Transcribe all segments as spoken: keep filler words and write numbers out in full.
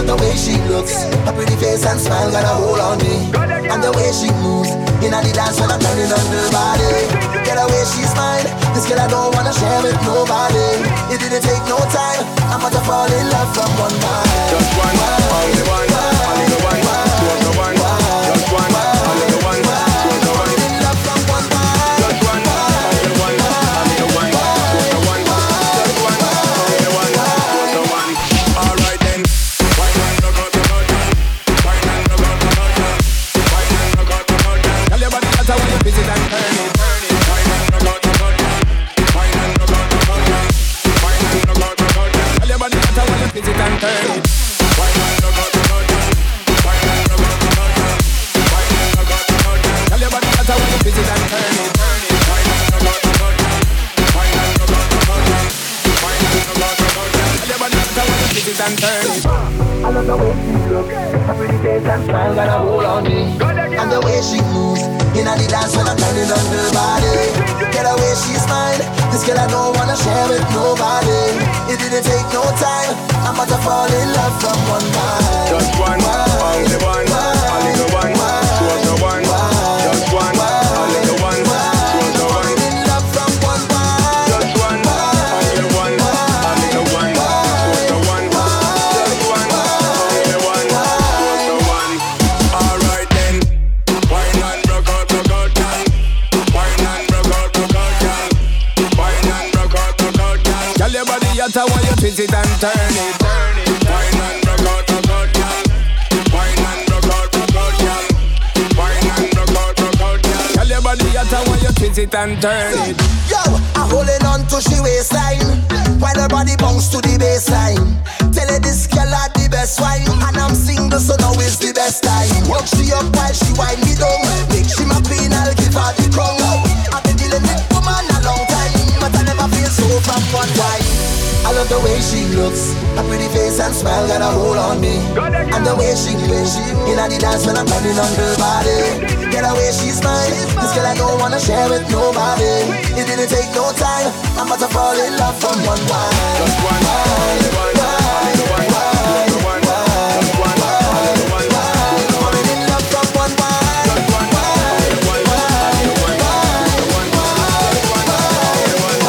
love the way she looks. Her pretty face and smile got a hold on me. And the way she moves in the dance when I'm turning on her body. Get away, she's mine. This girl I don't wanna share with nobody. It didn't take no time. I'm about to fall in love from one night. Just one, only one, only the one, two of the one. Just one, only the one, two of the one. In love from one night. Just one, only the one, only the one, two of the one. Just one, only the one, two of the one. All right then. Wine and rock out the boat, wine and rock out the boat, wine and rock out the boat. Tell your body that's how you visit and turn it, turn it. Wine and rock out the boat, wine and rock out the boat, wine and rock out the boat. Tell your body that's how you visit and turn it. Wine and rock out the boat, wine and rock out the boat, wine and rock out the boat. Tell your body that's how you visit and turn it, turn it. Wine and rock out the boat, wine and rock out the boat, wine and rock out the boat. Tell your body that's how you visit and turn it. I love the way she looks. Her pretty face and smile got a hold on me. And the way she moves in the dance when I'm turning on her body. Get away, she's mine. This girl I don't wanna share with nobody. It didn't take no time. I'm about to fall in love from one night. Just one, only one, only the one, two of the one. Just one, only the one, two of the one. In love from one night. Just one, only the one, only the one, two of the one. Just one, only the one, two of the one. All right then. Wine and rock out, rock out, girl. Wine and rock out, rock out, girl. Wine and rock out, rock out, girl. Tell your body at how you twist it and turn it, turn it. Wine and rock out, rock out, girl. Wine and rock out, rock out, girl. Wine and rock out, rock out, girl. Tell your body at how you twist it and turn it. Yo, I'm holding on to she waistline while her body bounce to the baseline. Tell her this girl had the best wine, and I'm single, so now is the best time. Work she up while she wind me down. Make she my queen, I'll give her the crown. I've been dealing with woman a long time, but I never feel so from one wine. I love the way she looks. Her pretty face and smile got a hold on me. And the way she plays in the dance when I'm turning on her body. Get away, she's mine. This girl I don't wanna share with nobody. It didn't take no time. I'm about to fall in love from one wine. Just one, only one, only the one, two of the one. Just one, only the one, two of the one. Falling in love from one wine. Just one, only the one, only the one, two of the one. Just one, only the one, two of the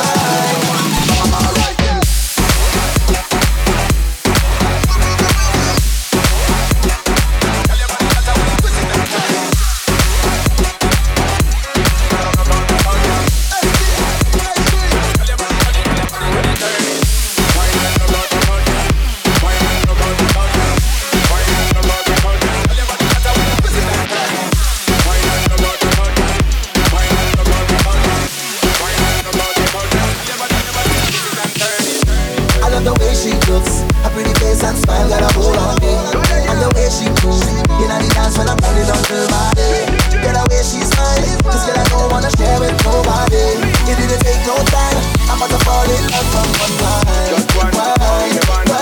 one. All right then. I love the way she looks. Her pretty face and smile got a hold on me. And the way she moves in the dance when I'm turning on her body. Get away, she's mine. This girl I don't wanna share with nobody. It didn't take no time. I'm about to fall in love from one night. Just one, only one,